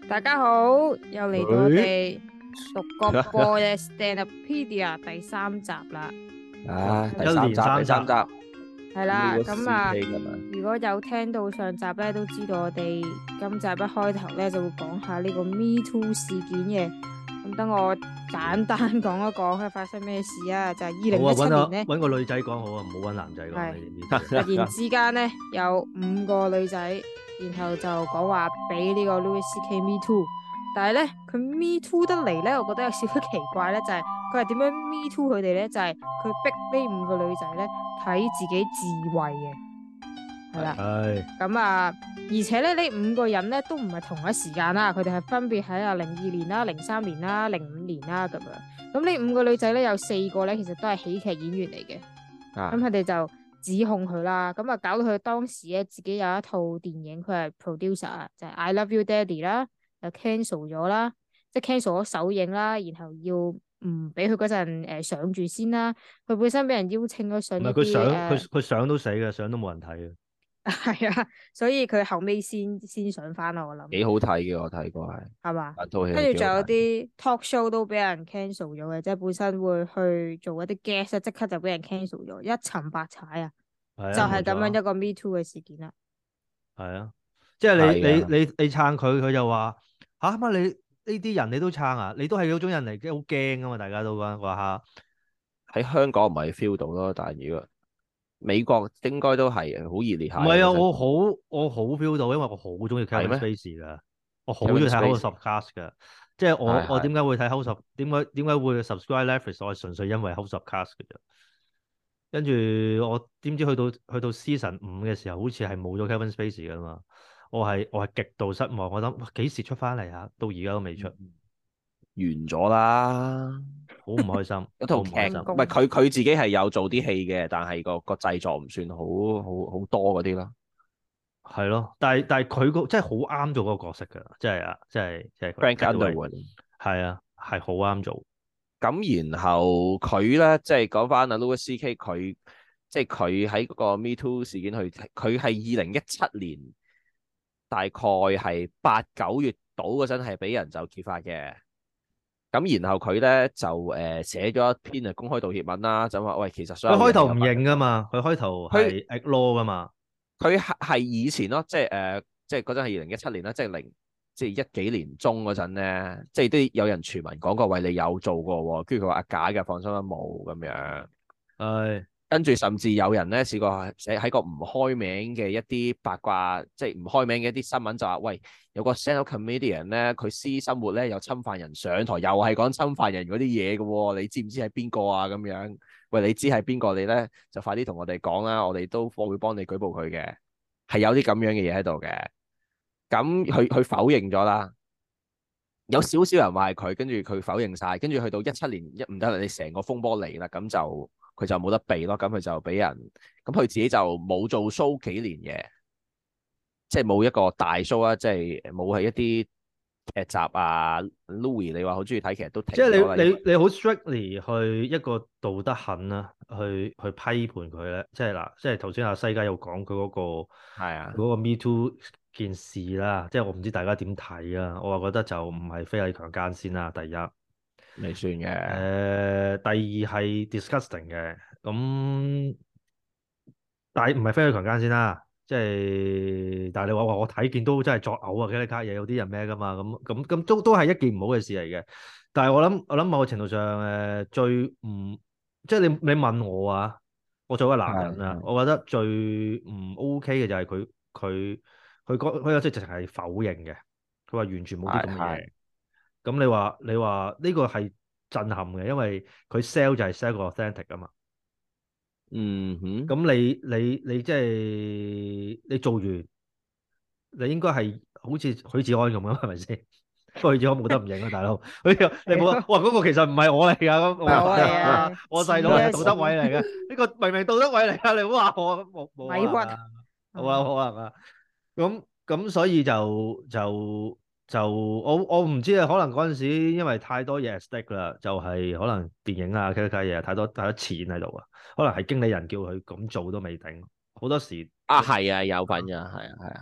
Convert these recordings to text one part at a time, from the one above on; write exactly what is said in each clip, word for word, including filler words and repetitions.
大家好，又嚟到我哋獨角播嘅 Standupedia 第三集啦。 啊，第一三集， 連三集第三集係啦，咁啊， Louis C K 㗎嘛如果有聽到上集咧，都知道我哋今集一開頭咧就會講下呢個 Me Too 事件嘅。咁等我簡單講一講佢發生咩事啊？就係二零一七年咧， 搵個女仔講好啊，唔好搵男仔講。 係你哋突然之間咧有五個女仔，然後就講話俾呢個 Louis C K Me Too。但係咧，佢 Me Too 得嚟咧，我覺得有少少奇怪咧，就係佢係點樣 Me Too 佢哋咧？就係、是、佢逼呢五個女仔咧睇自己自慰嘅，係啦。 係咁啊，而且咧呢五個人咧都唔係同一時間啦，佢哋係分別喺啊零二年啦、零三年啦、零五年啦咁樣。咁呢五個女仔咧有四個咧，其實都係喜劇演員嚟嘅。咁佢哋就指控佢啦，咁啊搞到佢當時咧自己有一套電影，佢係 producer 就係 I Love You Daddy 啦。就 cancel 咗啦，即係 cancel 咗首映啦，然後要唔俾佢嗰陣誒上住先啦。佢本身俾人邀請咗上一啲誒， 佢上佢佢上都死嘅，上都冇人睇嘅。 係啊，所以佢後尾先先上翻啦。我諗幾好睇嘅，我睇過係係嘛， 跟住仲有啲 talk show 都俾人 cancel 咗嘅，即係本身會去做一啲 guest，即刻就俾人 cancel 咗，一沉百踩啊！就係咁樣一個 Me Too 嘅事件啦。 係啊，即係你你你你撐佢，佢就話。吓乜、啊、你呢啲人你都撐啊？你都係嗰種人嚟，即係好驚噶嘛！大家都講話吓喺香港唔係 feel 到咯，但係如果美國應該都係好熱烈下。 唔係啊，我好我好 feel 到，因為我好中意 Kevin Spacey 噶，我好中意睇 House of Cards 噶。即係我我點解會睇 House of 點解點解會 subscribe Netflix？我係純粹因為 House of Cards 嘅啫。跟住我點知去到去到 season 五嘅時候，好似係冇咗 Kevin Spacey 噶嘛。我係我係極度失望，我諗幾時出翻嚟啊？到而家都未出，完咗啦， 好唔開心。 一套劇唔係佢佢自己係有做啲戲嘅，但係個個製作唔算好好好多嗰啲咯。 係咯，但係但係佢個真係好啱做嗰個角色㗎，真係啊，真係即係。 Frank Underwood 係啊，係好啱做。 咁然後佢咧，即係講翻阿 Louis C K 佢，即係佢喺嗰個 Me Too 事件去，佢係二零一七年。大概係八九月到嗰陣係俾人就揭發嘅，咁然後佢咧就誒寫咗一篇誒公開道歉文啦，就話喂，其實佢開頭唔認噶嘛，佢開頭係 ignore 噶嘛， 佢係係以前咯，即係誒即係嗰陣係二零一七年啦，即係零即係一幾年中嗰陣咧，即係都有人傳聞講過喂，你有做過，跟住佢話啊假嘅，放心啦冇咁樣， 係。 跟住甚至有人咧試過寫喺個唔開名嘅一啲八卦，即係唔開名嘅一啲新聞就話，喂，有個 stand-up comedian 咧，佢私生活咧有侵犯人上台，又係講侵犯人嗰啲嘢嘅喎，你知唔知係邊個啊？咁樣，喂，你知係邊個你咧，就快啲同我哋講啦，我哋都會幫你舉報佢嘅，係有啲咁樣嘅嘢喺度嘅。咁佢佢否認咗啦，有少少人話係佢，跟住佢否認晒，跟住去到一七年一唔得啦，你成個風波嚟啦，咁就。佢就冇得避咯，咁佢就俾人，咁佢自己就冇做 show 幾年嘅，即係冇一個大 show 啊，即係冇係一啲劇集啊。Louis 你話好中意睇，其實都停咗啦。 即係你你你好 strictly 去一個道德痕啦，去去批判佢咧，即係嗱，即係頭先阿西加有講佢嗰個係啊， 嗰個 Me Too 件事啦，即係我唔知大家點睇啊，我話覺得就唔係非禮強姦先啦，第一。 未算嘅。誒、 呃，第二係 disgusting 嘅，咁但係唔係非禮強姦先啦，即係但係你話話我睇見都真係作嘔啊！幾啲卡嘢有啲人咩噶嘛，咁咁咁都都係一件唔好嘅事嚟嘅。但係我諗我諗某個程度上誒、呃、最唔即係你你問我啊，我作為一個男人啊，我覺得最唔 OK 嘅就係佢佢佢講佢有即係直情係否認嘅，佢話完全冇啲咁嘅嘢。咁你話你話呢個係震撼嘅，因為佢 sell 就係 sell 個 authentic 啊嘛。 嗯哼。 咁你你你即係你做完，你應該係好似許志安咁樣，係咪先？不過許志安冇得唔認啊，大佬。你冇啊？哇！嗰個其實唔係我嚟㗎，咁我係啊，我細佬係杜德偉嚟嘅。呢個明明杜德偉嚟㗎，你唔好話我冇冇可能啊？冇啊，可能啊。咁咁所以就就。就我我唔知啊，可能嗰陣時因為太多嘢 stake 啦，就係、是、可能電影啊、其他嘢太多太多錢喺度啊，可能係經理人叫佢咁做都未定，好多時啊係啊有份㗎，係啊係啊，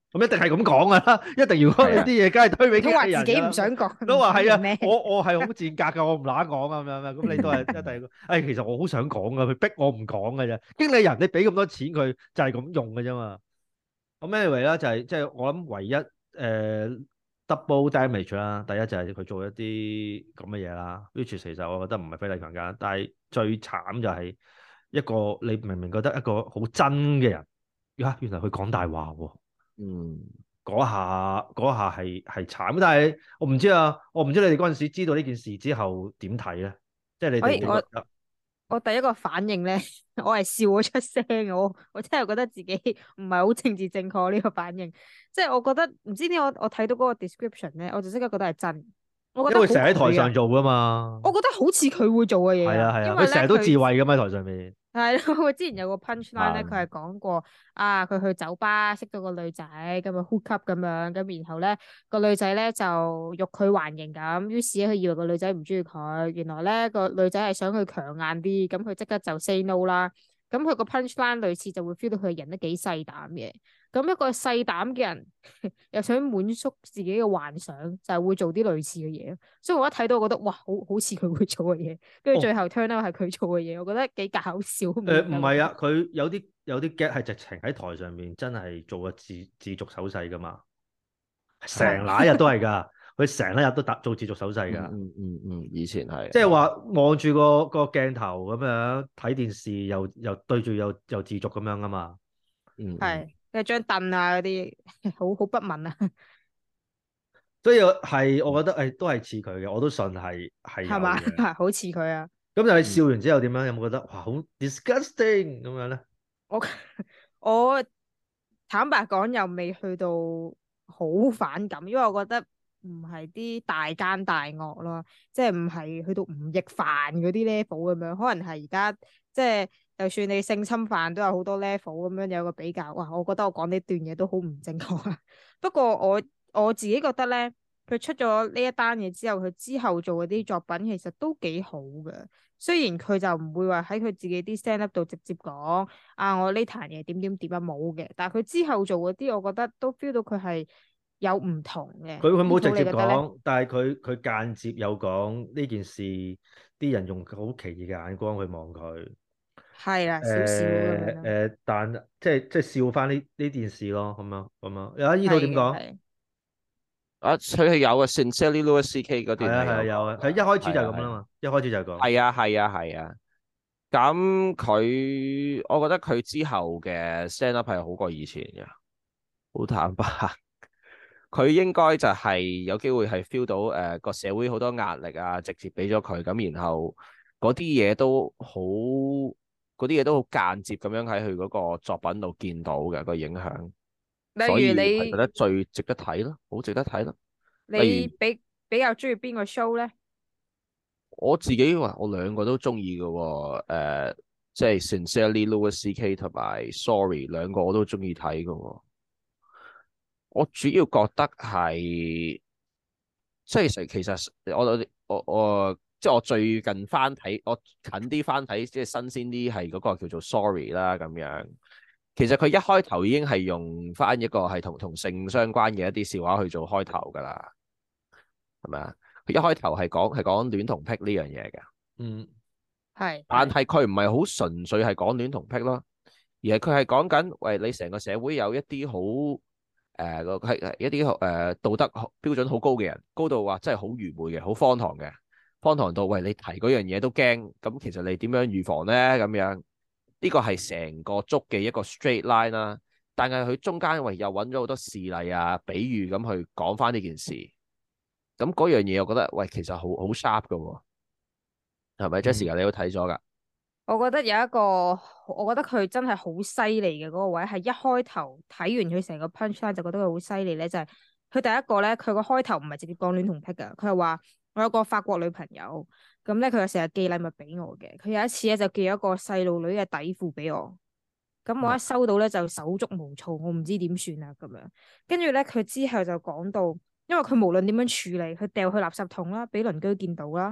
咁一定係咁講噶啦，一定如果你啲嘢梗係推俾經都話理人自己唔想講， 都話係啊， 咩？ 我我係好賤格噶，我唔乸講啊咁樣咁你都係一定，誒其實我好想講噶，佢逼我唔講嘅啫。經理人你俾咁多錢佢就係咁用嘅啫嘛。咁 anyway 啦，就係即係我諗唯一誒、呃、double damage 啦。第一就係佢做一啲咁嘅嘢啦，which 其實我覺得唔係非禮強姦，但係最慘就係一個你明明覺得一個好真嘅人，呀原來佢講大話喎。 嗯， 嗰下嗰下係係慘，但係我唔知啊，我唔知你哋嗰陣時知道呢件事之後點睇咧？即係你哋哎我點覺得？ 我第一個反應咧，我係笑咗出聲嘅，我我真係覺得自己唔係好政治正確呢個反應，即係我覺得唔知點解我我睇到嗰個 description 咧，我就即刻覺得係真，我覺得因為成日喺台上做， 做噶嘛。 我覺得好似佢會做嘅嘢啊， 係啊係啊， 因為咧佢成日都自佢。 慰噶嘛喺台上面。 係咯，佢之前有個 punchline 咧， 啊佢係講過啊，佢去酒吧識到個女仔，咁啊 hook up 咁樣，咁然後咧個女仔咧就欲拒還迎咁，於是咧佢以為個女仔唔中意佢，原來咧個女仔係想佢強硬啲，咁佢即刻就 say no 啦。咁佢個 punchline 類似就會 feel 到佢人都幾細膽嘅，咁一個細膽嘅人又想滿足自己嘅幻想，就係會做啲類似嘅嘢咯。所以我一睇到，我覺得哇，好好似佢會做嘅嘢，跟住最後 turn out 係佢做嘅嘢，我覺得幾搞笑。誒誒唔係啊，佢有啲有啲 get 係直情喺台上面真係做個自自續手勢噶嘛，成嗱一日都係㗎，佢成一日都打做自續手勢㗎。 嗯嗯嗯，以前係即係話望住個個鏡頭咁樣睇電視又，又又對住又又自續咁樣啊嘛。 嗯係，跟住張凳啊嗰啲，好好不文啊， 所以係我覺得誒都係似佢嘅，我都信係係有係嘛？ 嘅。 好似佢啊！ 咁就係笑完之後點樣？有冇覺得哇好 disgusting 咁樣咧？ 我我坦白講又未去到好反感，因為我覺得唔係啲大奸大惡咯，即係唔係去到吳亦凡嗰啲 level 咁樣，可能係而家即係就算你性侵犯都有好多 level 咁樣有個比較。哇！我覺得我講呢段嘢都好唔正確啊。不過我我自己覺得咧，佢出咗呢一單嘢之後，佢之後做嗰啲作品其實都幾好嘅。雖然佢就唔會話喺佢自己啲 stand up 度直接講啊，我呢壇嘢點點點啊冇嘅，但係佢之後做嗰啲，我覺得都 feel 到佢係有唔同嘅。 佢佢冇直接呢套你覺得咧？ 講，但係佢佢間接有講呢件事，啲人用好奇異嘅眼光去望佢。 係啦，少少咁樣咯。 誒誒，但即係即係笑翻呢呢件事咯，咁樣咁樣。有啊，依套點講？ 係嘅係啊，佢係有啊，Sincerely Louis C K 嗰段係啊係啊係有有啊， 講佢一開始就係咁係啊啦嘛，一開始就係講。 係啊係啊係啊。咁佢，我覺得佢之後嘅 stand up 係好過以前嘅，好坦白。佢應該就係有機會係 feel 到誒個、呃、社會好多壓力啊，直接俾咗佢咁，然後嗰啲嘢都好，嗰啲嘢都好間接咁樣喺佢嗰個作品度見到嘅、個影響，所例如以係覺得你最值得睇咯，好值得睇咯。例如你比比較中意邊個 show 咧？ 我自己話我兩個都中意嘅喎，誒即係 Sincerely Louis C K 同埋 Sorry 兩個我都中意睇嘅喎。我主要覺得係，即係其實我我我我即係我最近翻睇，我近啲翻睇，即係新鮮啲係嗰個叫做 Sorry 啦咁樣。其實佢一開頭已經係用翻一個係同同性相關嘅一啲笑話去做開頭㗎啦，係咪啊？佢一開頭係講係講戀童癖呢樣嘢嘅， 嗯， 係， 但係佢唔係好純粹係講戀童癖咯，而係佢係講緊，喂，你成個社會有一啲好。誒個係一啲誒、呃、道德標準好高嘅人，高到話真係好愚昧嘅，好荒唐嘅，荒唐到喂你提嗰樣嘢都驚，咁其實你點樣預防咧？咁樣呢個係成個足嘅一個 straight line 啦、啊，但係佢中間喂又揾咗好多事例啊、比喻咁去講翻呢件事，咁嗰樣嘢我覺得喂其實好好 sharp 㗎喎，係咪 Jessica 你都睇咗㗎？ 我覺得有一個，我覺得佢真係好犀利嘅嗰個位，係一開頭睇完佢成個 punchline 就覺得佢好犀利咧，就係、是、佢第一個咧，佢個開頭唔係直接講戀童癖噶，佢係話我有個法國女朋友，咁咧佢又成日寄禮物俾我嘅，佢有一次咧就寄咗個細路女嘅底褲俾我，咁我一收到咧就手足無措，我唔知點算啊咁樣，跟住咧佢之後就講到，因為佢無論點樣處理，佢掉去垃圾桶啦，俾鄰居見到啦。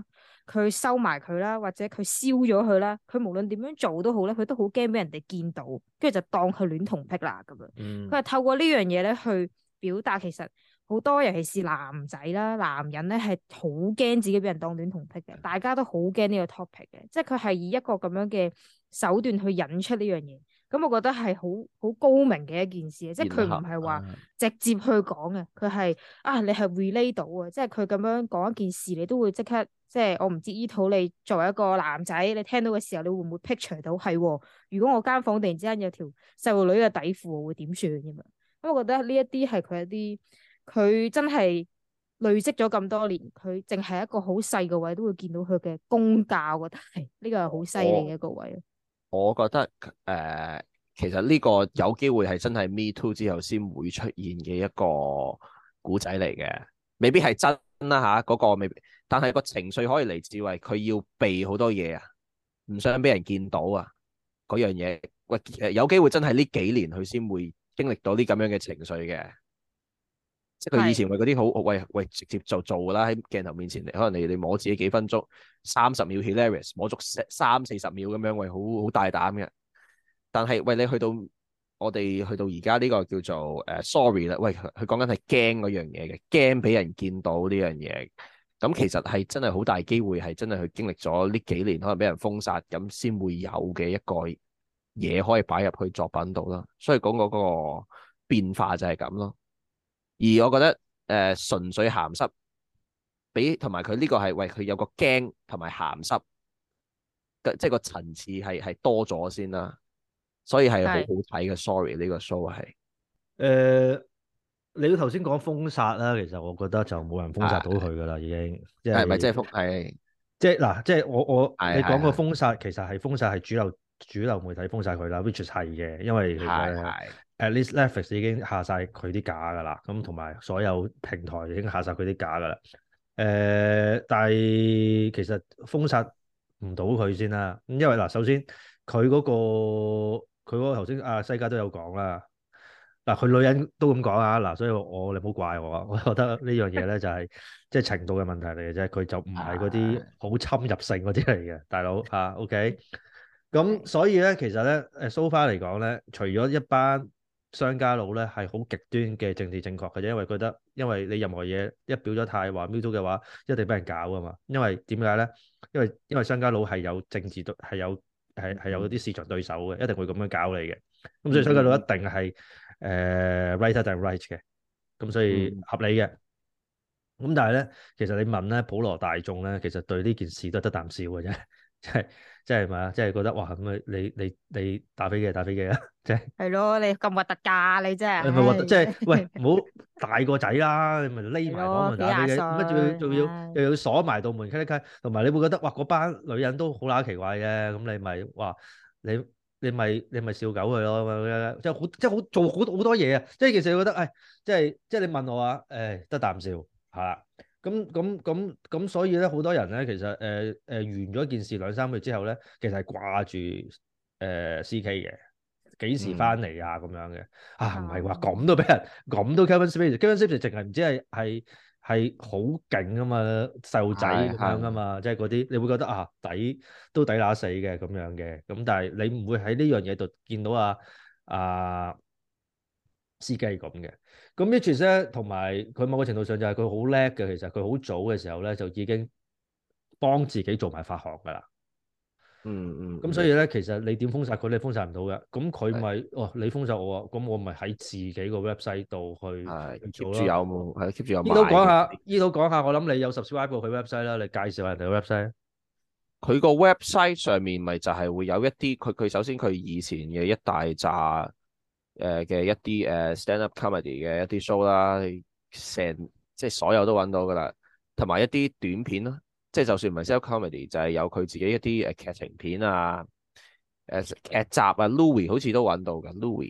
佢收埋佢啦，或者佢燒咗佢啦，佢無論點樣做都好咧，佢都好驚俾人哋見到，跟住就當佢戀童癖啦咁樣。 嗯， 佢係透過呢樣嘢咧去表達，其實好多尤其是男仔啦、男人咧係好驚自己俾人當戀童癖嘅，大家都好驚呢個 topic 嘅，即係佢係以一個咁樣嘅手段去引出呢樣嘢。咁我覺得係好好高明嘅一件事，即係佢唔係話直接去講嘅，佢係啊你係 relate 到啊，即係佢咁樣講一件事，你都會即刻即係我唔知依套你作為一個男仔，你聽到嘅時候，你會唔會 picture 到係？如果我間房突然之間有條細路女嘅底褲，我會點算咁樣？咁我覺得呢一啲係佢一啲佢真係累積咗咁多年，佢淨係一個好細個位都會見到佢嘅功架，我覺得係呢個係好犀利嘅一個位。 我覺得誒、呃，其實呢個有機會係真係 Me Too 之後先會出現嘅一個古仔嚟嘅，未必係真啦嚇，嗰、那個未必，但係個情緒可以嚟自為佢要避好多嘢啊，唔想俾人見到啊，嗰樣嘢，喂，有機會真係呢幾年佢先會經歷到啲咁樣嘅情緒嘅。即係佢以前為嗰啲好，喂喂，直接就做啦，喺鏡頭面前，可能你你摸自己幾分鐘，三十秒 hilarious，摸足三四十秒咁樣，喂，好好大膽嘅。但係喂，你去到我哋去到而家呢個叫做誒、uh, sorry 啦，喂，佢講緊係驚嗰樣嘢嘅，驚俾人見到呢樣嘢。咁其實係真係好大機會係真係佢經歷咗呢幾年，可能俾人封殺，咁先會有嘅一個嘢可以擺入去作品度啦。所以講嗰個變化就係咁咯。而我覺得誒、呃、純粹鹹濕，比同埋佢呢個係喂佢有個驚同埋鹹濕，即係個層次係係多咗先啦，所以係好好睇嘅。Sorry 呢個 show 係誒、 呃，你頭先講封殺啦，其實我覺得就冇人封殺到佢噶啦，已經即係咪即係封係即係嗱，即係我我你講個封殺，其實係封殺係主流主流媒體封殺佢啦，which 係嘅，因為其實 at least Netflix 已經下晒佢啲架噶啦，咁同埋所有平台已經下晒佢啲架噶啦。誒、呃，但係其實封殺唔到佢先啦。咁因為嗱，首先佢嗰、嗰個佢嗰個頭先阿西加都有講啦。嗱，佢女人都咁講啊。嗱，所以我，我你唔好怪我啊。我覺得呢樣嘢咧就係即係程度嘅問題嚟嘅啫。佢就唔係嗰啲好侵入性嗰啲嚟嘅，大佬嚇、啊。OK。咁所以咧，其實咧，誒 so far 嚟講咧，除咗一班商家佬咧係好極端嘅政治正確嘅啫，因為覺得因為你任何嘢一表咗態話 MeToo 嘅話，一定俾人搞噶嘛。因為點解咧？因為因為商家佬係有政治對係有係係有啲市場對手嘅，一定會咁樣搞你嘅。咁所以商家佬一定係誒 right 定 right 嘅，咁所以合理嘅。咁但係咧，其實你問咧普羅大眾咧，其實對呢件事都係得啖笑嘅啫。即係即係咪啊？即係覺得哇咁啊！你你你打飛機打飛機啊！即係係咯，你咁核突㗎你真係。你咪核突，即係喂唔好大個仔啦！你咪匿埋房門打飛機，乜仲要仲要又要鎖埋道門，咔咔咔。同埋你會覺得哇，嗰班女人都好乸奇怪嘅。咁你咪話你你咪你咪笑狗佢咯，即係好即係好做好好多嘢啊！即係其實你覺得誒，即係即係你問我話誒，得啖笑係啦。咁咁咁咁，所以咧好多人咧，其實誒誒、呃呃、完咗件事兩三個月之後咧，其實係掛住誒 C K 嘅，幾時翻嚟啊咁樣嘅啊？唔係話咁都俾人咁都 Kevin Spacey，Kevin Spacey 淨係唔知係係係好勁啊嘛，細路仔咁樣啊嘛，即係嗰啲你會覺得啊抵都抵乸死嘅咁樣嘅，咁但係你唔會喺呢樣嘢度見到啊啊司機咁嘅。咁 Mitch 咧，同埋佢某個程度上就係佢好叻嘅。其實佢好早嘅時候咧，就已經幫自己做埋發行噶啦。 嗯嗯。 咁所以咧，其實你點封殺佢，你封殺唔到嘅。咁佢咪哦，你封殺我啊？咁我咪喺自己個 website 度去做咯。keep 住有冇？係 keep 住有。依度講下，依度講下。我諗你有 subscribe 過佢 website 啦，你介紹下人哋個 website。 佢個 website 上面咪就係會有一啲佢佢首先佢以前嘅一大紮。誒嘅、呃、一啲誒、呃、stand up comedy 嘅一啲 show 啦，成即係所有都揾到噶啦，同埋一啲短片咯，即係就算唔係 stand up comedy，就係有佢自己一啲誒劇情片啊，誒、呃、劇集啊 Louis 好似都揾到噶 Louis。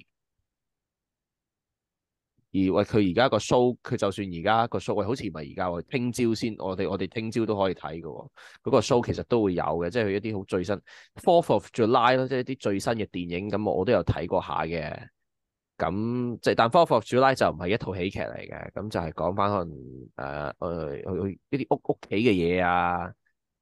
而喂佢而家個 show，佢就算而家個 show，喂好似唔係而家喎，聽朝先，我哋我哋聽朝都可以睇嘅喎，嗰個 show 其實都會有嘅，即係佢一啲好最新 Fourth of July 咯，即係一啲最新嘅電影，咁我都有睇過下嘅。咁即係，但《Fourth of July》就唔係一套喜劇嚟嘅，咁就係講翻可能誒誒一啲屋屋企嘅嘢啊，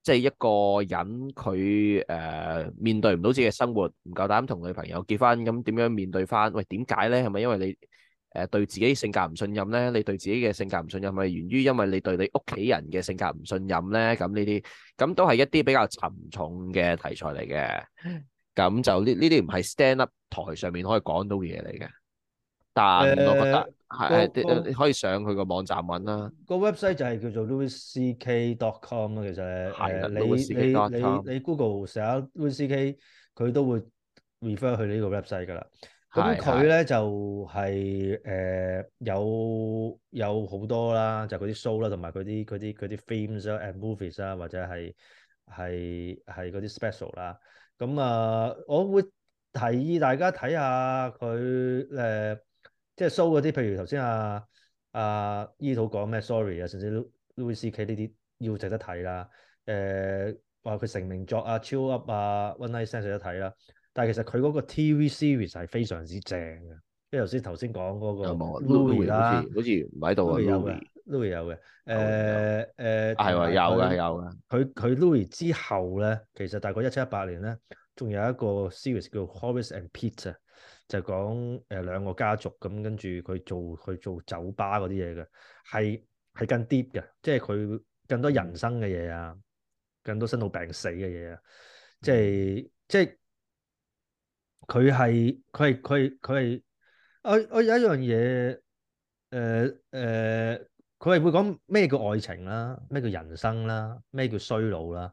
即係一個人佢誒、呃、面對唔到自己嘅生活，唔夠膽同女朋友結婚，咁點樣面對翻？喂，點解咧？係咪因為你誒、呃、對自己性格唔信任咧？你對自己嘅性格唔信任，係咪源於因為你對你屋企人嘅性格唔信任咧？咁呢啲咁都係一啲比較沉重嘅題材嚟嘅。咁就呢呢啲唔係 stand up 台上面可以講到嘅嘢嚟嘅。但我覺得誒係個個係你可以上佢個網站揾啦。 個 website 就係叫做 louis c k dot com 啦。其實係啦誒你 louis c k 你 dot 你 com 你 Google 寫下 louis c k，佢都會 refer 去呢個 website 㗎啦。咁係係佢咧就係、誒、有有好多啦，就嗰啲 show 啦，同埋嗰啲嗰啲嗰啲 films 啦 and movies 啦，或者係係係嗰啲 special 啦。咁啊，我會提議大家睇下佢誒，即係 show 嗰啲，譬如頭先啊啊伊土講咩 sorry 啊，甚至 Louis C K 呢啲要值得睇啦。誒話佢成名作啊，Chill Up 啊，One Night Stand 值得睇啦。但係其實佢嗰個 T V series 係非常之正嘅，因為頭先頭先講嗰個有冇 Louis Louis 好啦似好似唔喺度啊 ，Louis 有嘅 ，Louis ，Louis 有嘅。 有嘅有誒誒， 係喎， 同埋有嘅係佢有嘅。 佢佢 Louis 之後咧，其實大概一七一八年咧，仲有一個 series 叫 Horace and Pete 啊，就講誒兩個家族咁，跟住佢做去做酒吧嗰啲嘢嘅，係係更 deep 嘅，即係佢更多人生嘅嘢啊，更多生老病死嘅嘢啊，即係即係佢係佢係佢係佢係我我有一樣嘢誒誒，佢係會講咩叫愛情啦，咩叫人生啦，咩叫衰老啦。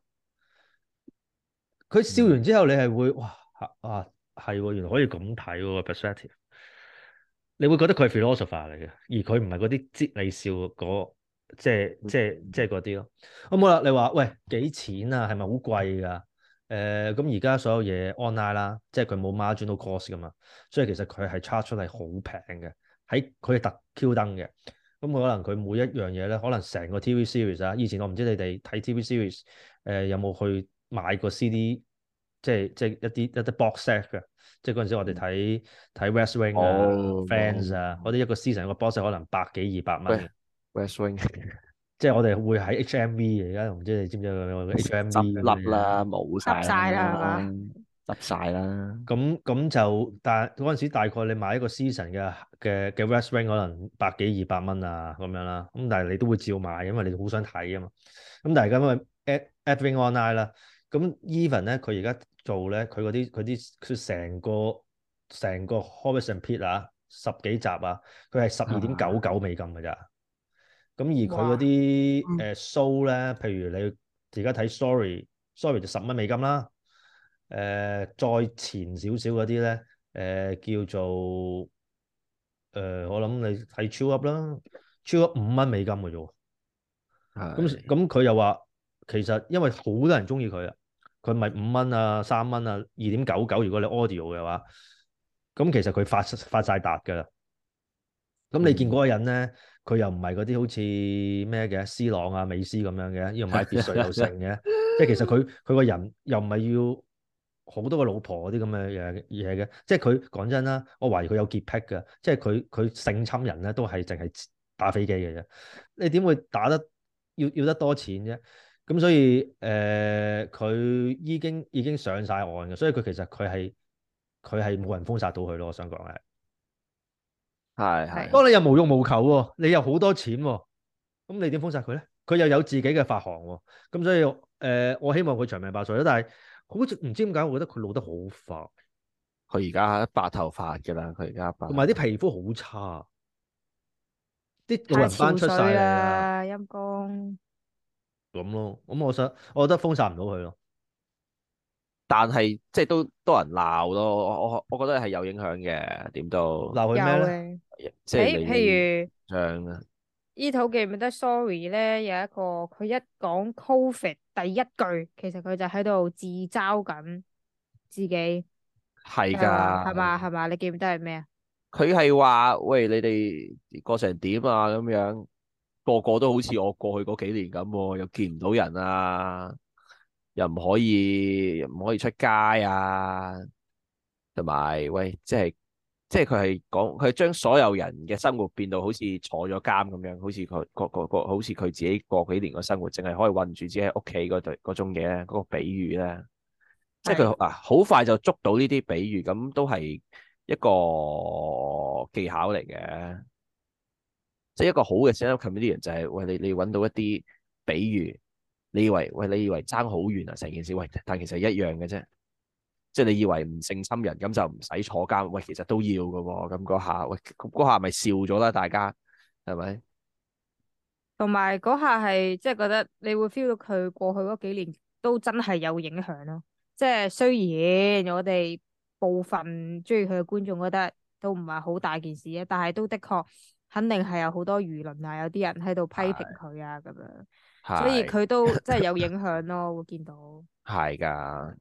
佢笑完之後，你係會哇啊係喎，原來可以咁睇喎 perspective。你會覺得佢係 philosopher 嚟嘅，而佢唔係嗰啲哲理笑嗰即係即係即係嗰啲咯。咁好啦，你話喂幾錢啊？係咪好貴㗎？誒咁而家所有嘢 online 啦，即係佢冇 marginal cost 㗎嘛，所以其實佢係 charge 出嚟好平嘅，喺佢係特 Q 燈嘅。咁可能佢每一樣嘢咧，可能成個 T V series 啊，以前我唔知你哋睇 T V series 誒、呃、有冇去買過 C D，即係即係一啲一啲 box set 嘅。即係嗰陣時我哋睇睇 West Wing 啊、 哦 Friends 啊，嗰啲一個 season 一個 box set 可能百幾二百蚊嘅。 West Wing 即係我哋會喺 H M V 嘅，而家唔知你知唔知有個 H M V 執咁嘅嘢。 笠啦，冇晒執晒啦係嘛？ 執晒啦。 咁咁就，但係嗰陣時大概你買一個 season 嘅嘅嘅 West Wing 可能百幾二百蚊啊咁樣啦。咁但係你都會照買，因為你好想睇啊嘛。咁但係咁啊 Ad Adwing Online 啦。咁 Even 咧，佢而家做咧，佢嗰啲佢啲佢成個成個 Horace and Pete 啊，十幾集啊，佢係十二點九九美金㗎咋。咁而佢嗰啲誒 show 咧，譬如你而家睇 Sorry，Sorry 就十蚊美金啦。誒、呃、再前少少嗰啲咧，誒、呃、叫做誒、呃、我諗你睇 Chill Up 啦，Chill Up 五蚊美金嘅啫喎。咁咁佢又話其實因為好多人中意佢啊，佢咪五蚊啊、三蚊啊、二點九九，如果你 audio 嘅話，咁其實佢發發曬達㗎啦。咁你見嗰個人咧，佢又唔係嗰啲好似咩嘅 C 朗啊、美斯咁樣嘅，要買別墅又成嘅，即係其實佢佢個人又唔係要好多個老婆嗰啲咁嘅嘢嘢嘅，即係佢講真啦，我懷疑佢有潔癖嘅，即係佢佢性侵人咧都係淨係打飛機嘅啫，你點會打得要要得多錢啫？咁所以誒，佢、呃、已經已經上晒岸嘅，所以佢其實佢係佢係冇人封殺到佢咯，我想講係。 係係。 不過你又無欲無求喎，你又好多錢喎，咁你點封殺佢咧？佢又有自己嘅發行喎，咁所以誒、呃，我希望佢長命百歲啦。但係好似唔知點解，我覺得佢老得好快。 佢而家白頭髮㗎啦，佢而家白。 同埋啲皮膚好差，啲老太人斑出晒嚟啦，陰公。 咁咯。咁我想，我覺得封殺唔到佢咯。 但係即係都多人鬧咯，我我我覺得係有影響嘅，點都鬧佢有咩咧？ 嘅。誒， 即係你譬如像啊， 依套記唔記得 Sorry 咧，有一個佢一講 Covid 第一句，其實佢就喺度自嘲緊自己， 係就係話係㗎， 嘛係嘛？你記唔記得係咩啊？ 佢係話喂，你哋過成點啊咁樣，個個都好似我過去嗰幾年咁喎，又見唔到人啊，又唔可以又唔可以出街啊，同埋喂，即係即係佢係講佢係將所有人嘅生活變到好似坐咗監咁樣，好似佢個個個好似佢自己過幾年嘅生活，淨係可以韞住自己喺屋企嗰對嗰種嘢咧，嗰、嗰個比喻咧，即係佢啊好快就捉到呢啲比喻，咁都係一個技巧嚟嘅。即係一個好嘅 stand-up comedian 就係喂，你你揾到一啲比喻，你以為喂，你以為爭好遠啊成件事，喂，但其實一樣嘅啫。即係你以為唔性侵人咁就唔使坐監，喂，其實都要嘅喎。咁嗰下喂，嗰下咪笑咗啦，大家係咪？ 同埋嗰下係即係覺得你會 feel 到佢過去嗰幾年都真係有影響咯。即係雖然我哋部分中意佢嘅觀眾覺得都唔係好大件事啊，但係都的確肯定係有好多輿論啊，有啲人喺度批評佢啊咁樣，所以佢都真係有影響咯。會見到係㗎。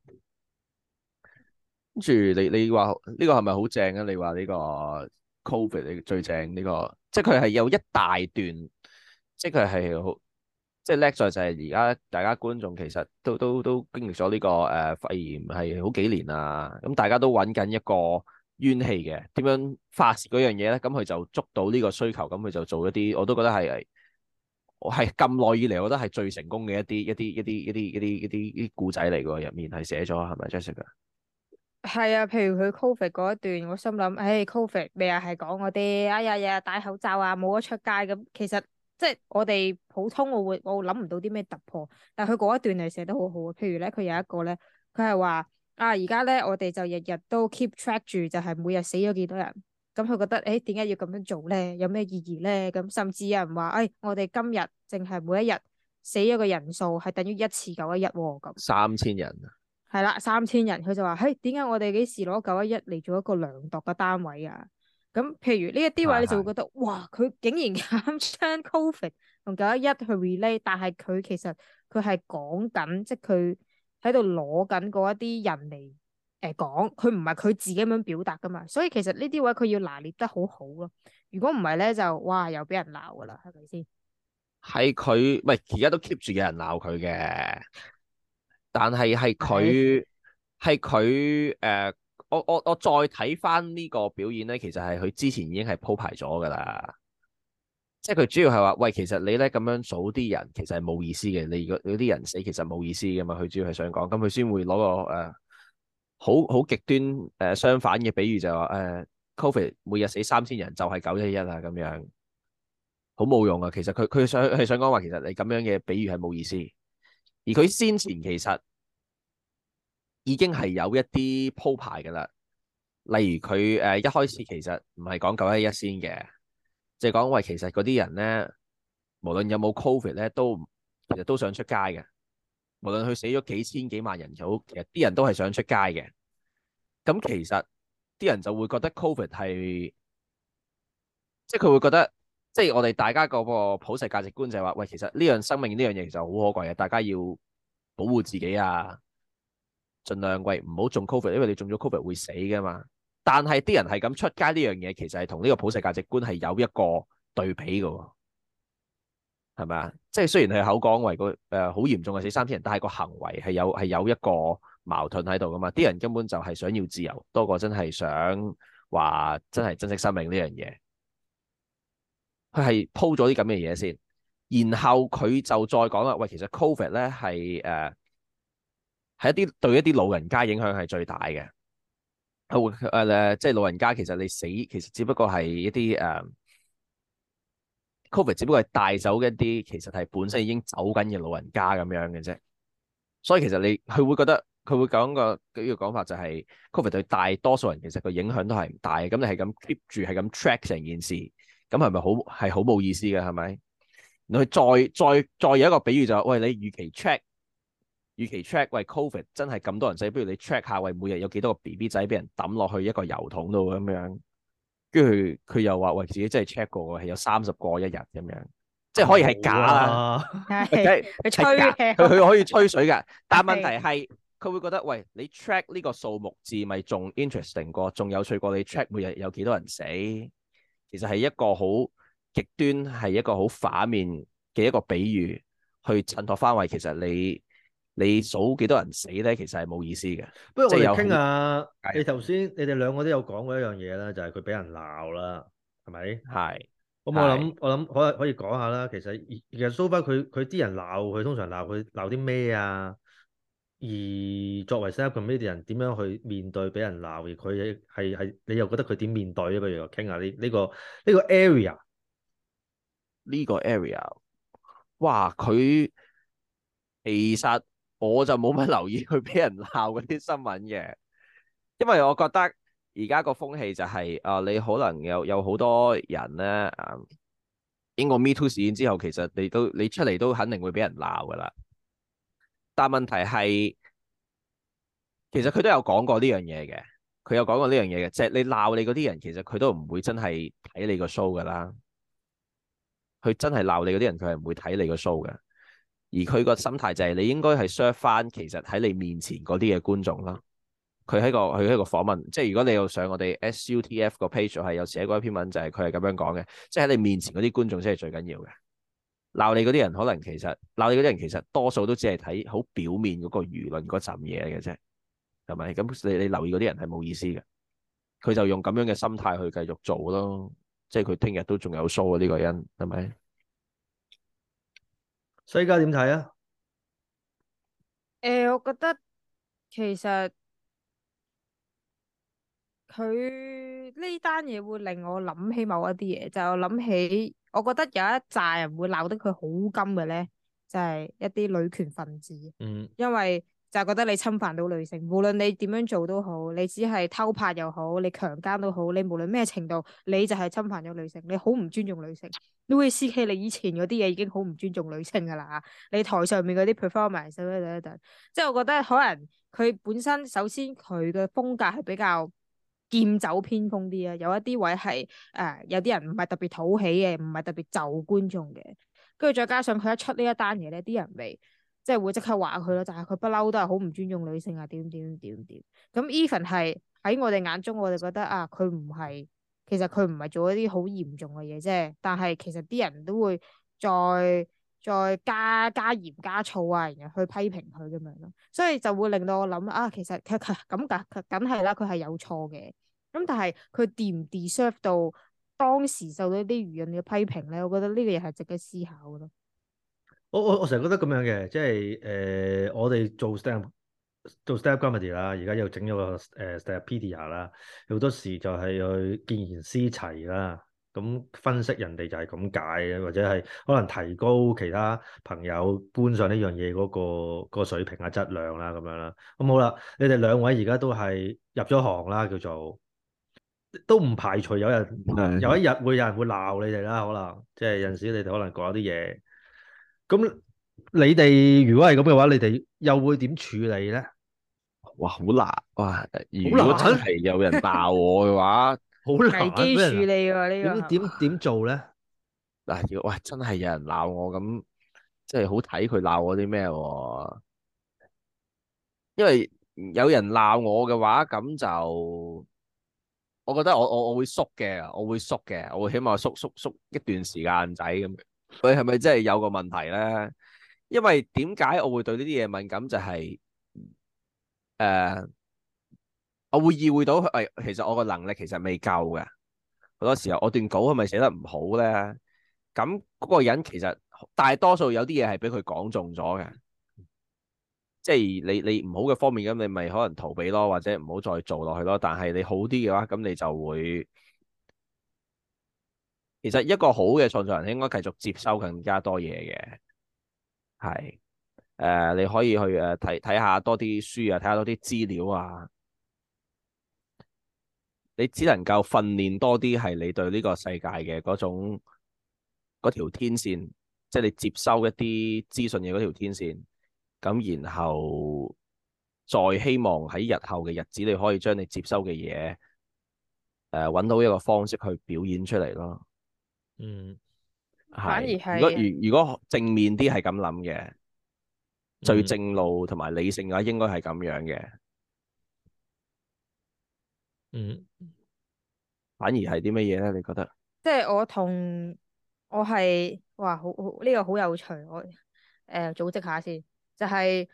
跟住你你話呢個係咪好正啊？你話呢個 Covid 你最正呢個，即係佢係有一大段，即係佢係好，即係叻在就係而家大家觀眾其實都都都經歷咗呢個誒肺炎係好幾年啦，咁大家都揾緊一個怨氣嘅，點樣發泄嗰樣嘢咧？咁佢就捉到呢個需求，咁佢就做一啲，我都覺得係我係咁耐以嚟，我覺得係最成功嘅一啲一啲一啲一啲一啲一啲一啲故仔嚟㗎，入面係寫咗係咪 Jessica？ 係啊，譬如佢 Covid 嗰一段，我心諗，唉，Covid 咪又係講嗰啲，哎呀呀戴口罩啊，冇得出街咁。其實即係我哋普通，我會我諗唔到啲咩突破。但係佢嗰一段係寫得好好啊。譬如咧，佢有一個咧，佢係話啊，而家咧我哋就日日都 keep track 住，就係每日死咗幾多人。咁佢覺得，誒，點解要咁樣做咧？有咩意義咧？咁甚至有人話，誒、哎，我哋今日淨係每一日死咗嘅人數係等於一次九一一喎，咁三千人。 係啦，三千人，佢就話，嘿，點解我哋幾時攞九一一嚟做一個量度嘅單位啊？咁譬如呢一啲位，你就會覺得，是是哇，佢竟然咁將 Covid 同九一一去 relate，但係佢其實佢係講緊，即係佢喺度攞緊嗰一啲人嚟誒講，佢唔係佢自己咁樣表達噶嘛。所以其實呢啲位佢要拿捏得好好咯。如果唔係咧，就哇又俾人鬧噶啦，係咪先？ 係佢，喂，而家都 keep 住有人鬧佢嘅。但係係佢係佢誒，我我我再睇翻呢個表演咧，其實係佢之前已經係鋪排咗噶啦。即係佢主要係話，喂，其實你咧咁樣數啲人，其實係冇意思嘅。你如果有啲人死，其實冇意思噶嘛。佢主要係想講，咁佢先會攞個誒、呃、好好極端誒、呃、相反嘅比喻就係話誒，Covid 每日死三千人就係九一一啊咁樣，好冇用啊。其實佢佢想係想講話，其實你咁樣嘅比喻係冇意思。而佢先前其實已經係有一啲鋪排㗎啦，例如佢誒、呃、一開始其實唔係講九一一先嘅，即係講喂，其實嗰啲人咧，無論有冇 Covid 咧，都其實都想出街嘅。無論佢死咗幾千幾萬人又好，其實啲人都係想出街嘅。咁其實啲人就會覺得 Covid 係，即係佢會覺得，即係我哋大家嗰個普世價值觀就係話，喂，其實呢樣生命呢樣嘢其實好可貴嘅，大家要保護自己啊！盡量喂唔好中 Covid，因為你中咗 Covid 會死噶嘛。但係啲人係咁出街呢樣嘢，其實係同呢個普世價值觀係有一個對比嘅，係咪啊？即係雖然係口講為個誒好嚴重嘅死三千人，但係個行為係有係有一個矛盾喺度噶嘛。啲人根本就係想要自由，多過真係想話真係珍惜生命呢樣嘢。佢係鋪咗啲咁嘅嘢先，然後佢就再講啦。喂，其實 Covid 咧係誒。係一啲對一啲老人家影響係最大嘅，會誒誒，即係老人家其實你死其實只不過係一啲誒、uh, Covid 只不過係帶走一啲其實係本身已經走緊嘅老人家咁樣嘅啫。所以其實你佢會覺得佢會講個呢個講法就係、是、Covid 對大多數人其實個影響都係唔大嘅。咁你係咁 keep 住係咁 track 成件事，咁係咪好係好冇意思嘅係咪？然後佢再再再有一個比喻就係、是、喂，你與其 track。與其 check 喂 Covid 真係咁多人死，不如你 check 下喂每日有幾多個 B B 仔俾人抌落去一個油桶度咁樣，跟住佢又話喂自己真係 check 過係有三十個一日咁樣，即係可以係假啦， 係佢吹佢佢可以吹水㗎，但係問題係佢會覺得喂你 check 呢個數目字咪仲 interesting 過，仲有趣過你 check 每日有幾多人死，其實係一個好極端係一個好反面嘅一個比喻去襯托翻為其實你。 你數幾多人死咧，其實係冇意思嘅。 不如我哋即係有好傾下， 係你頭先你哋兩個都有講過一樣嘢啦，就係佢俾人鬧啦，係咪？ 係咁我係諗我諗可可以講下啦。其實其實 so far 佢佢啲人鬧佢，通常鬧佢鬧啲咩啊？而作為 stand-up comedian 點樣去面對俾人鬧？而佢係係你又覺得佢點面對咧？不如我傾下呢呢個呢個 area。 呢個 area，哇！佢其實我就冇乜留意佢俾人鬧嗰啲新聞嘅，因為我覺得而家個風氣就係、是、啊、呃，你可能有有好多人咧啊，經過 Me Too 事件之後，其實你都你出嚟都肯定會俾人鬧噶啦。但問題係，其實佢都有講過呢樣嘢嘅，佢有講過呢樣嘢嘅，即係你鬧你嗰啲人，其實佢都唔會真係睇你個 show 噶啦。佢真係鬧你嗰啲人，佢係唔會睇你個 show 嘅。而佢個心態就係你應該係 serve 翻其實喺你面前嗰啲嘅觀眾啦。佢喺個佢喺個訪問，即係如果你有上我哋 S U T F 個 page 係有寫過一篇文，就係佢係咁樣講嘅，即係喺你面前嗰啲觀眾先係最緊要嘅。鬧你嗰啲人可能其實鬧你嗰啲人其實多數都只係睇好表面嗰個輿論嗰陣嘢嚟嘅啫，係咪？咁你你留意嗰啲人係冇意思嘅。佢就用咁樣嘅心態去繼續做咯，即係佢聽日都仲有 show 啊！呢個人係咪？ 西加點睇啊？ 誒、我覺得其實佢呢單嘢會令我諗起某一啲嘢，就係我諗起，我覺得有一紮人會鬧得佢好甘嘅咧，就係、是、一啲女權分子， 嗯因為就係覺得你侵犯到女性，無論你點樣做都好，你只係偷拍又好，你強姦都好，你無論咩程度，你就係侵犯咗女性，你好唔尊重女性。Louis C K 你以前嗰啲嘢已經好唔尊重女性噶啦，你台上面嗰啲 performance 等等等，即係我覺得可能佢本身首先佢嘅風格係比較劍走偏鋒啲啊，有一啲位係誒、呃、有啲人唔係特別討喜嘅，唔係特別就觀眾嘅，跟住再加上佢一出呢一單嘢咧，啲人咪即係會即刻話佢咯，就係佢不嬲都係好唔尊重女性啊，點點點點咁 even 係喺我哋眼中，我哋覺得啊，佢唔係，其實佢唔係做一啲好嚴重嘅嘢啫，但係其實啲人都會再再加加鹽加醋啊，然後去批評佢咁樣咯，所以就會令到我諗啊，其實佢佢咁梗梗係啦，佢係有錯嘅。咁但係佢 de 唔 deserve 到當時受到啲輿論嘅批評咧？我覺得呢個嘢係值得思考嘅咯。 我我我成日覺得咁樣嘅，即係誒、呃，我哋做 stand 做 stand comedy 啦，而家又整咗個誒 Standupedia 啦，好多時就係去見賢思齊啦，咁分析人哋就係咁解嘅，或者係可能提高其他朋友觀賞呢樣嘢嗰個個水平啊、質量啦咁樣啦。咁好啦，你哋兩位而家都係入咗行啦，叫做都唔排除有人有一日會有人會鬧你哋啦，可能即係有陣時你哋可能講啲嘢。咁你哋如果係咁嘅話，你哋又會點處理咧？ 哇，好難哇！如好果真難， 係有人鬧我嘅話， 好危難俾人機處理喎呢個點點點做咧？ 嗱，如果喂真係有人鬧我咁，即係好睇佢鬧我啲咩喎？因為有人鬧我嘅話，咁就我覺得我我我會縮嘅，我會縮嘅，我會起碼縮縮縮一段時間仔咁。佢係咪真係有個問題咧？因為點解我會對呢啲嘢敏感？就係、是、誒、呃，我會意會到誒、哎，其實我個能力其實未夠嘅。好多時候我段稿係咪寫得唔好咧？咁嗰個人其實大多數有啲嘢係俾佢講中咗嘅。即係你你唔好嘅方面，咁你咪可能逃避咯，或者唔好再做落去咯。但係你好啲嘅話，咁你就會，其實一個好嘅創作人應該繼續接收更加多嘢嘅，係誒、呃，你可以去誒睇睇下多啲書啊，睇下多啲資料啊。你只能夠訓練多啲係你對呢個世界嘅嗰種嗰條天線，即係你接收一啲資訊嘅嗰條天線。咁然後再希望喺日後嘅日子，你可以將你接收嘅嘢，誒、呃、揾到一個方式去表演出嚟咯。 嗯， 反而係。如果係如如果正面啲係咁諗嘅，最嗯正路同埋理性嘅話，應該係咁樣嘅。 嗯， 反而係啲乜嘢咧？你覺得？ 即係我同我係哇，好好呢個好有趣，我誒、呃、組織下先，就係、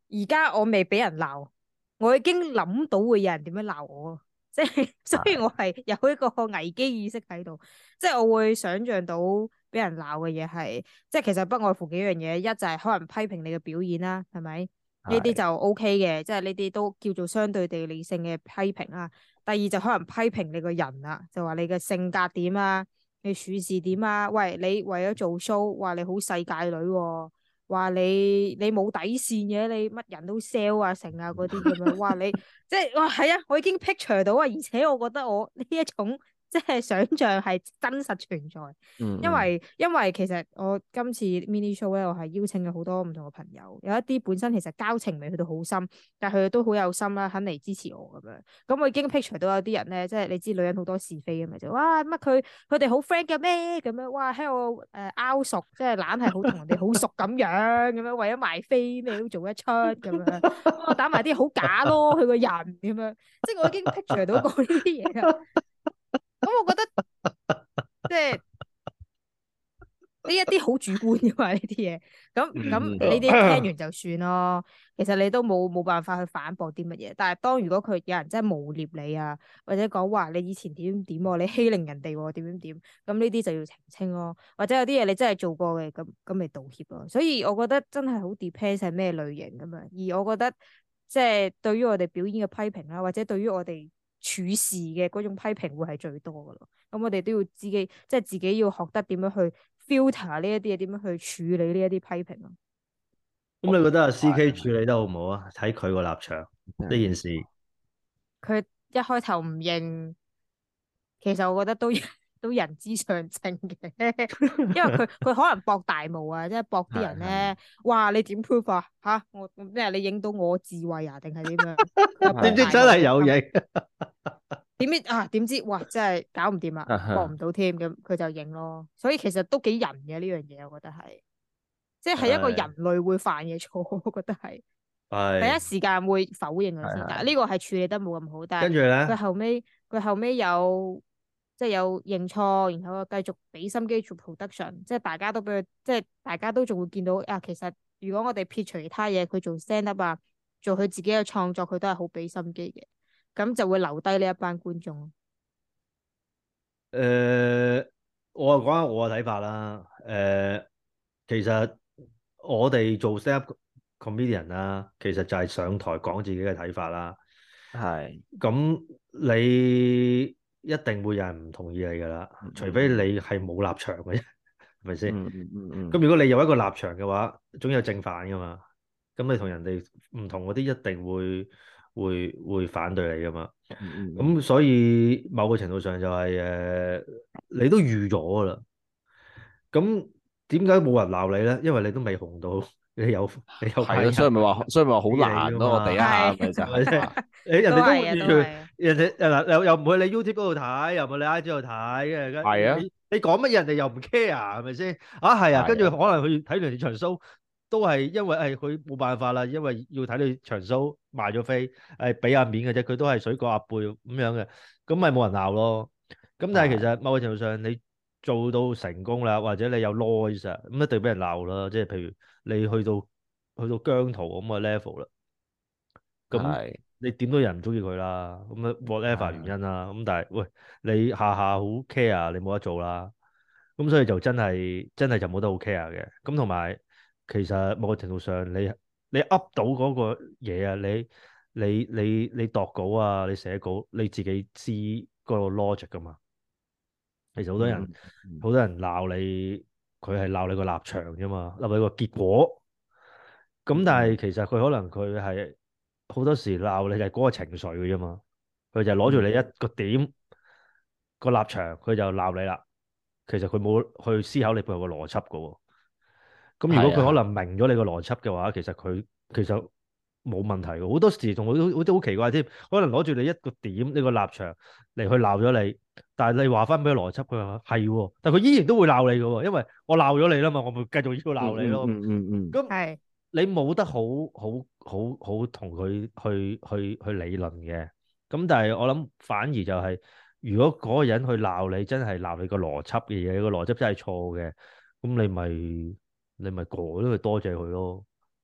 而家我未俾人鬧，我已經諗到會有人點樣鬧我，即係所以我係有一個危機意識喺度，即係我會想象到俾人鬧嘅嘢係，即係其實不外乎幾樣嘢，一就係可能批評你嘅表演啦，係咪？呢啲就 O K 嘅，即係呢啲都叫做相對地理性嘅批評啦。第二就可能批評你個人啦，就話你嘅性格點啊，你處事點啊，喂，你為咗做 show，話你好世界女喎，話你你冇底線嘅，你乜人都 sell 啊成啊嗰啲咁樣，哇你即係哇係啊，我已經 picture 到啊，而且我覺得我呢一種即係想像係真實存在。 嗯嗯因為因為其實我今次 mini show 咧，我係邀請咗好多唔同嘅朋友，有一啲本身其實交情未去到好深，但係佢哋都好有心啦，肯嚟支持我咁樣。咁我已經 picture 到有啲人咧，即係你知女人好多是非嘅嘛，就哇乜佢佢哋好 friend 嘅咩咁樣，哇喺度誒拗熟，即係懶係好同人哋好熟咁樣，咁樣為咗賣飛咩都做得出咁樣，我打埋啲好假咯，佢個人咁樣，即係我已經 picture 到過呢啲嘢啦。咁我覺得即係。呢一啲好主觀噶嘛，呢啲嘢，咁咁嗯你哋聽完就算咯。其實你都冇冇辦法去反駁啲乜嘢。但係當如果佢有人真係誣蔑你啊，或者講話你以前點點點喎，你欺凌人哋喎，點點點，咁呢啲就要澄清咯。或者有啲嘢你真係做過嘅，咁咁咪道歉咯。所以我覺得真係好 depends 係咩類型咁樣。而我覺得即係對於我哋表演嘅批評啦，或者對於我哋處事嘅嗰種批評會係最多噶咯。咁我哋都要自己即係自己要學得點樣去 filter 呢一啲嘢，點樣去處理呢一啲批評咯。 咁你覺得阿 C K 處理得好唔好啊？睇佢個立場呢件事， 佢一開頭唔認，其實我覺得都都人之常情嘅，因為佢佢可能博大霧啊，即係博啲人咧，哇你點 proof 啊？吓我咩？你影到我智慧啊？定係點樣？ 點知真係有影？ 點知啊？點知哇！真係搞唔掂啦，博唔到添，咁佢就認咯。所以其實都幾人嘅呢樣嘢，我覺得係，即係一個人類會犯嘅錯，我覺得係。第一時間會否認佢先，但係呢個係處理得冇咁好。但係跟住咧， 佢後尾佢後尾有即係有認錯，然後繼續俾心機做 production，即係大家都俾佢，即係大家都仲會見到啊。其實如果我哋撇除其他嘢，佢做 stand up 啊，做佢自己嘅創作，佢都係好俾心機嘅。咁就會留低呢一班觀眾。 誒、呃，我講下我嘅睇法啦。誒、呃，其實我哋做 stand up comedian 啦，其實就係上台講自己嘅睇法啦。 係。 咁你一定會有人唔同意你噶啦， 嗯、 除非你係冇立場嘅啫，係咪先？ 嗯嗯嗯嗯。 咁如果你有一個立場嘅話，總有正反噶嘛。咁你同人哋唔同嗰啲，一定會會會反對你噶嘛。咁、 嗯嗯、 所以某個程度上就係、是、誒、呃，你都預咗噶啦。咁點解冇人鬧你咧？因為你都未紅到，你有你有係咯，所以咪話，所以咪話好難咯。我哋一下咪就係， 你人哋都預住， 人哋嗱又又唔去你 YouTube 嗰度睇，又唔去你 I G 度睇嘅。 係啊， 你你講乜嘢人哋又唔 care 係咪先？啊係啊，跟住可能佢睇完你場 show，都係因為係佢冇辦法啦，因為要睇你場 show 賣咗飛，誒俾下面嘅啫，佢都係水過鴨背咁樣嘅，咁咪冇人鬧咯。咁但係其實某個程度上你做到成功啦，或者你有 noise 啊，咁一定俾人鬧啦。即係譬如你去到去到姜濤咁嘅 level 啦，咁你點都有人唔中意佢啦。咁啊 whatever 原因啦。咁但係喂，你下下好 care，你冇得做啦。咁所以就真係真係就冇得好 care 嘅。咁同埋其實某個程度上你你 up 到嗰個嘢啊，你你你你度稿啊，你寫稿你自己知嗰個 logic 噶嘛。其實好多人好、嗯嗯、多人鬧你，佢係鬧你個立場啫嘛，鬧你個結果。咁但係其實佢可能佢係好多時鬧你係嗰個情緒嘅啫嘛，佢就攞住你一個點、嗯、個立場，佢就鬧你啦。其實佢冇去思考你背後個邏輯噶喎。咁如果佢可能明咗你個邏輯嘅話，其實佢其實冇問題嘅。好多時仲好好都好奇怪添，可能攞住你一個點呢個立場嚟去鬧咗你。但係你話翻俾佢邏輯，佢話係喎，但係佢依然都會鬧你嘅喎，因為我鬧咗你啦嘛，我咪繼續要鬧你咯。 嗯嗯嗯。咁、嗯、 係、嗯、你冇得好好好好同佢去去去理論嘅。咁但係我諗反而就係、是，如果嗰個人去鬧你，真係鬧你個邏輯嘅嘢，個邏輯真係錯嘅，咁你咪你咪改咯，多謝佢咯。咁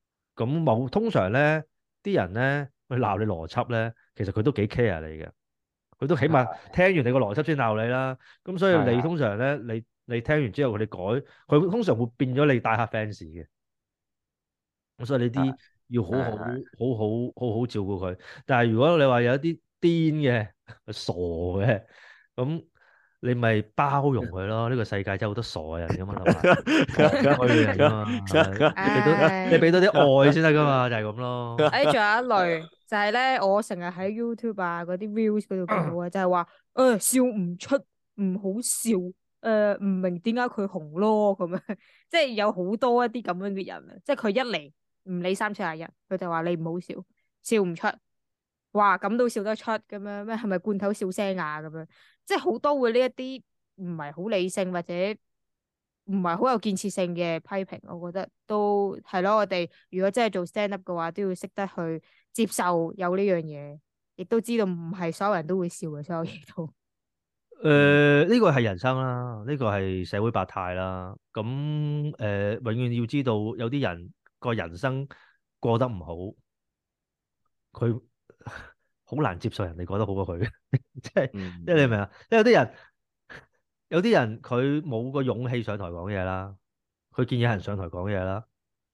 咁冇通常咧，啲人咧去鬧你邏輯咧，其實佢都幾 care 你嘅，佢都起碼聽完你個邏輯先鬧你啦。咁所以你通常咧，你你聽完之後佢哋改，佢通常會變咗你大客 fans 嘅。咁所以呢啲要好好好好好好照顧佢。但係如果你話有一啲癲嘅、傻嘅，咁你咪包容佢咯。呢個世界真係好多傻嘅人噶嘛，同埋戇居嘅人噶嘛，係咪？你俾到你俾到啲愛先得噶嘛，就係咁咯。 誒，仲有一類就係咧，我成日喺 YouTube 啊嗰啲 Reels 嗰度見到嘅，就係話誒笑唔出，唔好笑，誒唔明點解佢紅咯咁樣，即係有好多一啲咁樣嘅人啊，即係佢一嚟唔理三七廿一，佢就話你唔好笑，笑唔出，哇咁都笑得出咁樣咩？係咪罐頭笑聲啊咁樣？即係好多會呢一啲唔係好理性或者唔係好有建設性嘅批評，我覺得都係咯。我哋如果真係做 stand up 嘅話，都要識得去接受有呢樣嘢，亦都知道唔係所有人都會笑嘅，所有嘢都。 誒，呢個係人生啦，呢個係社會百態啦。咁誒，永遠要知道有啲人個人生過得唔好，佢好難接受人哋過得好過佢，即係即係你明唔明啊？即係有啲人。有啲人佢冇個勇氣上台講嘢啦，佢見有人上台講嘢啦，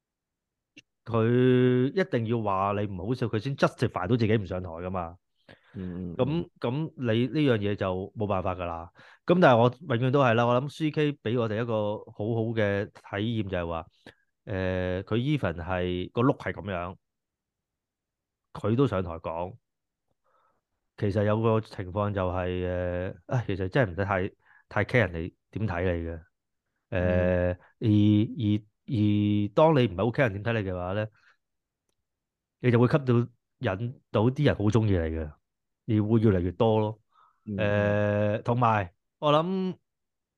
佢一定要話你唔好笑，佢先 justify 到自己唔上台噶嘛。 嗯， 咁咁你呢樣嘢就冇辦法噶啦。咁但係我永遠都係啦，我諗 C K 俾我哋一個好好嘅體驗就係話，誒佢 even 係個 look 係咁樣，佢都上台講。其實有個情況就係、是、誒，啊其實真係唔使太太 care 人哋點睇你嘅。誒、呃，而而而當你唔係好 care 人點睇你嘅話咧，你就會吸到引到啲人好中意你嘅，而會越嚟越多咯。誒、呃，同埋我諗誒、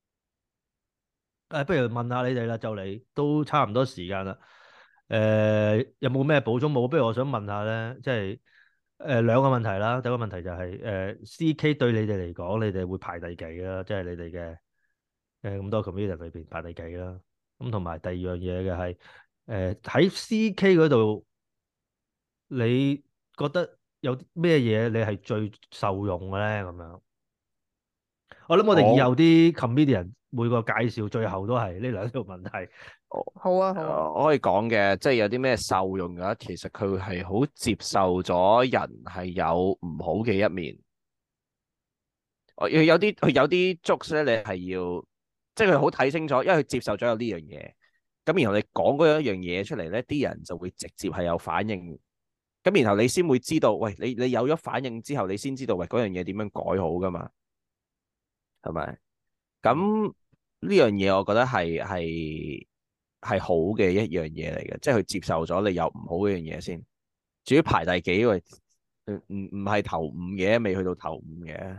呃，不如問下你哋啦，就嚟都差唔多時間啦。誒、呃，有冇咩補充冇？不如我想問下咧，即係誒兩個問題啦。第一個問題就係、是、誒、呃、C K 對你哋嚟講，你哋會排第幾啦？即係你哋嘅。誒咁多 comedian 裏邊排第幾啦？咁同埋第二樣嘢嘅係誒喺 C K 嗰度，你覺得有啲咩嘢你係最受用嘅咧？咁樣，我諗我哋以後啲 comedian 每個介紹最後都係呢兩條問題。 好啊，好啊， 我可以講嘅，即係有啲咩受用嘅，其實佢係好接受咗人係有唔好嘅一面。我有啲佢有啲 jokes 咧，你係要。即係佢好睇清楚，因為佢接受咗有呢樣嘢，咁然後你講嗰一樣嘢出嚟咧，啲人就會直接係有反應，咁然後你先會知道，喂，你你有咗反應之後，你先知道，喂，嗰樣嘢點樣改好噶嘛，係咪？咁呢樣嘢我覺得係係係好嘅一樣嘢嚟嘅，即係佢接受咗你有唔好嗰樣嘢先。至於排第幾，喂，唔唔唔係頭五嘅，未去到頭五嘅。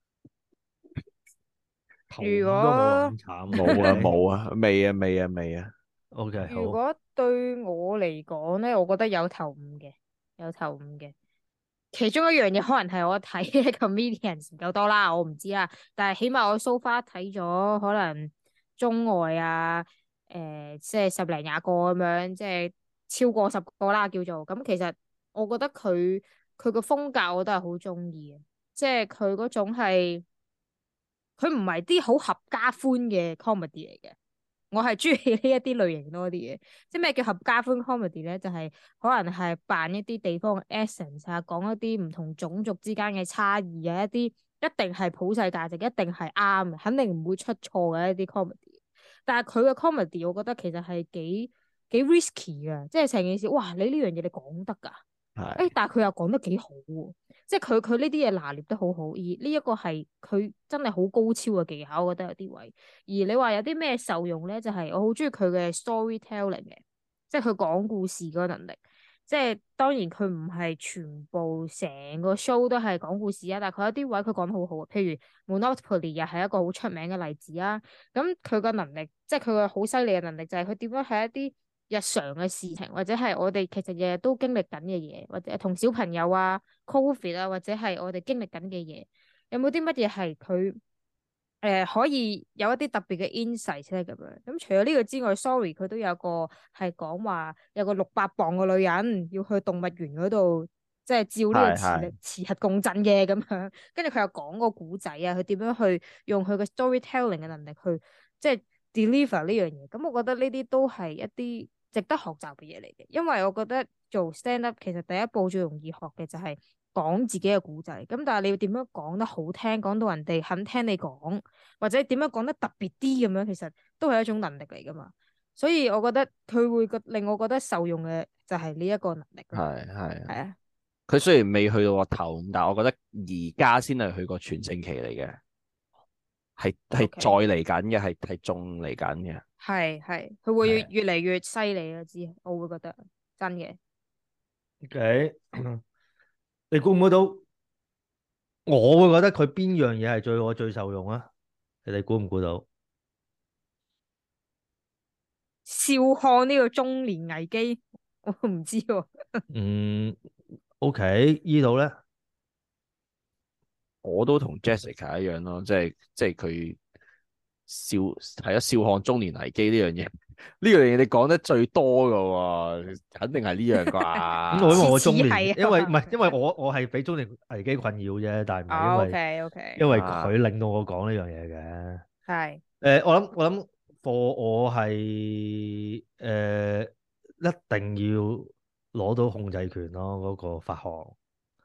如果都冇咁慘， 冇啊冇啊，未啊未啊未啊。 O K， 如果對我嚟講咧，我覺得有頭五嘅，有頭五嘅。其中一樣嘢可能係我睇嘅 comedians 唔夠多啦，我唔知啦。但係起碼我 so far 睇咗可能中外啊，誒、呃，即係十零廿個咁樣，即係超過十個啦叫做。咁其實我覺得佢佢個風格我都係好中意嘅，即係佢嗰種係。佢唔係啲好合家歡嘅 comedy 嚟嘅，我係中意呢一啲類型多啲嘅。即係咩叫合家歡 comedy 咧？就係、是、可能係扮一啲地方嘅 essence 啊，講一啲唔同種族之間嘅差異啊，一啲一定係普世價值，一定係啱嘅，肯定唔會出錯嘅一啲 comedy。但係佢嘅 comedy，我覺得其實係幾幾 risky 嘅，即係成件事，哇！你呢樣嘢你講得㗎？誒、欸，但係佢又講得幾好喎，即係佢佢呢啲嘢拿捏得好好，而呢一個係佢真係好高超嘅技巧，我覺得有啲位。而你話有啲咩受用咧，就係、是、我好中意佢嘅 storytelling 嘅，即係佢講故事嗰個能力。即係當然佢唔係全部成個 show 都係講故事啊，但係佢有啲位佢講得好好，譬如 Monopoly 又係一個好出名嘅例子啊。咁佢個能力，即係佢個好犀利嘅能力，就係佢點樣喺一啲日常嘅事情，或者係我哋其實日日都經歷緊嘅嘢，或者同小朋友啊、Covid 啊，或者係我哋經歷緊嘅嘢，有冇啲乜嘢係佢呃、可以有一啲特別嘅 insight 咧咁樣。咁除咗呢個之外，sorry 佢都有個係講話有個六百磅嘅女人要去動物園嗰度，即係照呢個磁力磁核共振嘅咁樣。跟住佢又講個古仔啊，佢點樣去用佢嘅 storytelling 嘅能力去即係 deliver 呢樣嘢。咁我覺得呢啲都係一啲值得學習嘅嘢嚟嘅，因為我覺得做 stand up 其實第一步最容易學嘅就係講自己嘅故仔，咁但係你要點樣講得好聽，講到人哋肯聽你講，或者點樣講得特別啲咁樣，其實都係一種能力嚟噶嘛。所以我覺得佢會覺令我覺得受用嘅就係呢一個能力。 係係係啊， 佢雖然未去到個頭，但係我覺得而家先係佢個全盛期嚟嘅，係係 Okay 再嚟緊嘅，係係仲嚟緊嘅。 係係，佢會係越嚟越犀利啊！知我會覺得真嘅。 OK，你估唔估到？我會覺得佢邊樣嘢係最我最受用啊？你哋估唔估到？ 笑看呢個中年危機，我唔知喎。 嗯，OK，呢度咧， 我都同 Jessica 一樣咯，即係即係佢笑係啊，笑看中年危機呢樣嘢，呢樣嘢你講得最多噶喎，肯定係呢樣咁我因為啩。 我中年， 似係啊因為唔係因為我我係俾中年危機困擾啫，但係唔係因為 OK OK， 因為佢令到我講呢樣嘢嘅。 係誒，我諗我諗，for 我係誒一定要攞到控制權咯，嗰個發行。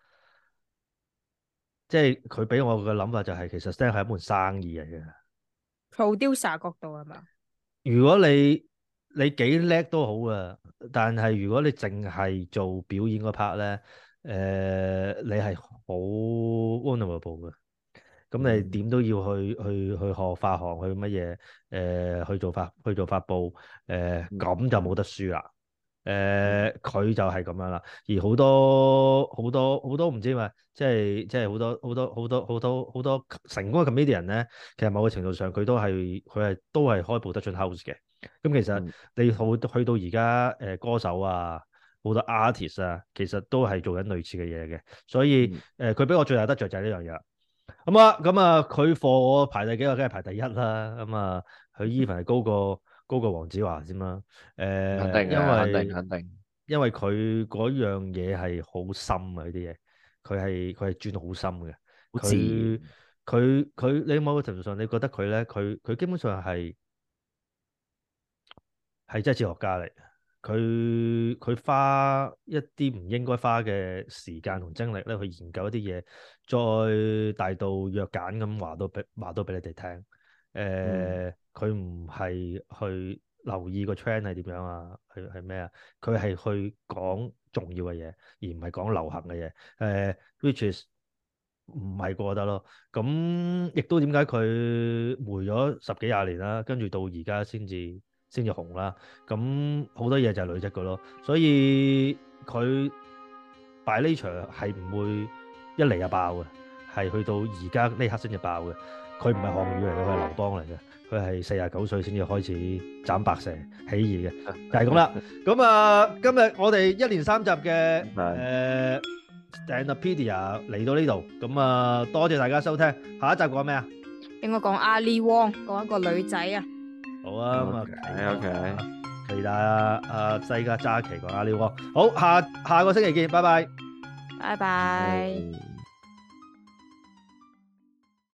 即係佢俾我嘅諗法就係，其實 stand 係一門生意嚟嘅。 producer 角度係嘛？ 如果你你幾叻都好啊，但係如果你淨係做表演嗰 part 咧，誒、你係好 vulnerable 嘅。咁你點都要去去去學發行，去乜嘢？誒、去做發去做發佈，誒、咁就冇得輸啦。誒，佢就係咁樣啦。而好多好多好多唔知嘛，即係即係好多好多好多好多好多成功嘅 comedian 咧，其實某個程度上佢都係佢係都係開 production house 嘅。咁其實你好去到而家誒歌手啊，好多 artist 啊，其實都係做緊類似嘅嘢嘅。所以誒，佢俾我最大得着就係呢樣嘢啦。咁啊咁啊，佢貨我排第幾個？梗係排第一啦。咁啊，佢 even 係高過高過黃子華先啦。誒， 肯定嘅， 因為肯定肯定。 因為佢嗰樣嘢係好深啊，呢啲嘢，佢係佢係轉好深嘅。 好自佢然。 佢佢，你某個程度上，你覺得佢咧，佢佢基本上係係真係哲學家嚟。佢佢花一啲唔應該花嘅時間同精力咧，去研究一啲嘢，再大度若簡咁話到俾話到俾你哋聽。誒，佢唔係去留意個 trend 係點樣啊？係係咩啊？佢係去講重要嘅嘢，而唔係講流行嘅嘢。誒、呃、which is 唔係過得咯。咁亦都點解佢霉咗十幾廿年啦，跟住到而家先至先至紅啦。咁好多嘢就係累積嘅咯。所以佢 by nature 係唔會一嚟就爆嘅，係去到而家呢刻先至爆嘅。佢唔係項羽嚟嘅，佢係劉邦嚟嘅。佢係四十九歲先至開始斬白蛇起義嘅，就係咁啦。咁啊，今日我哋一連三集嘅誒 Standupedia 嚟到呢度，咁啊多謝大家收聽。下一集講咩啊？ 應該講阿 Lee Wong，講一個女仔啊。 好啊，咁啊 OK，OK， 期待啊啊西加揸旗講阿 Lee Wong。好，下下個星期見，拜拜， 拜拜。 嗯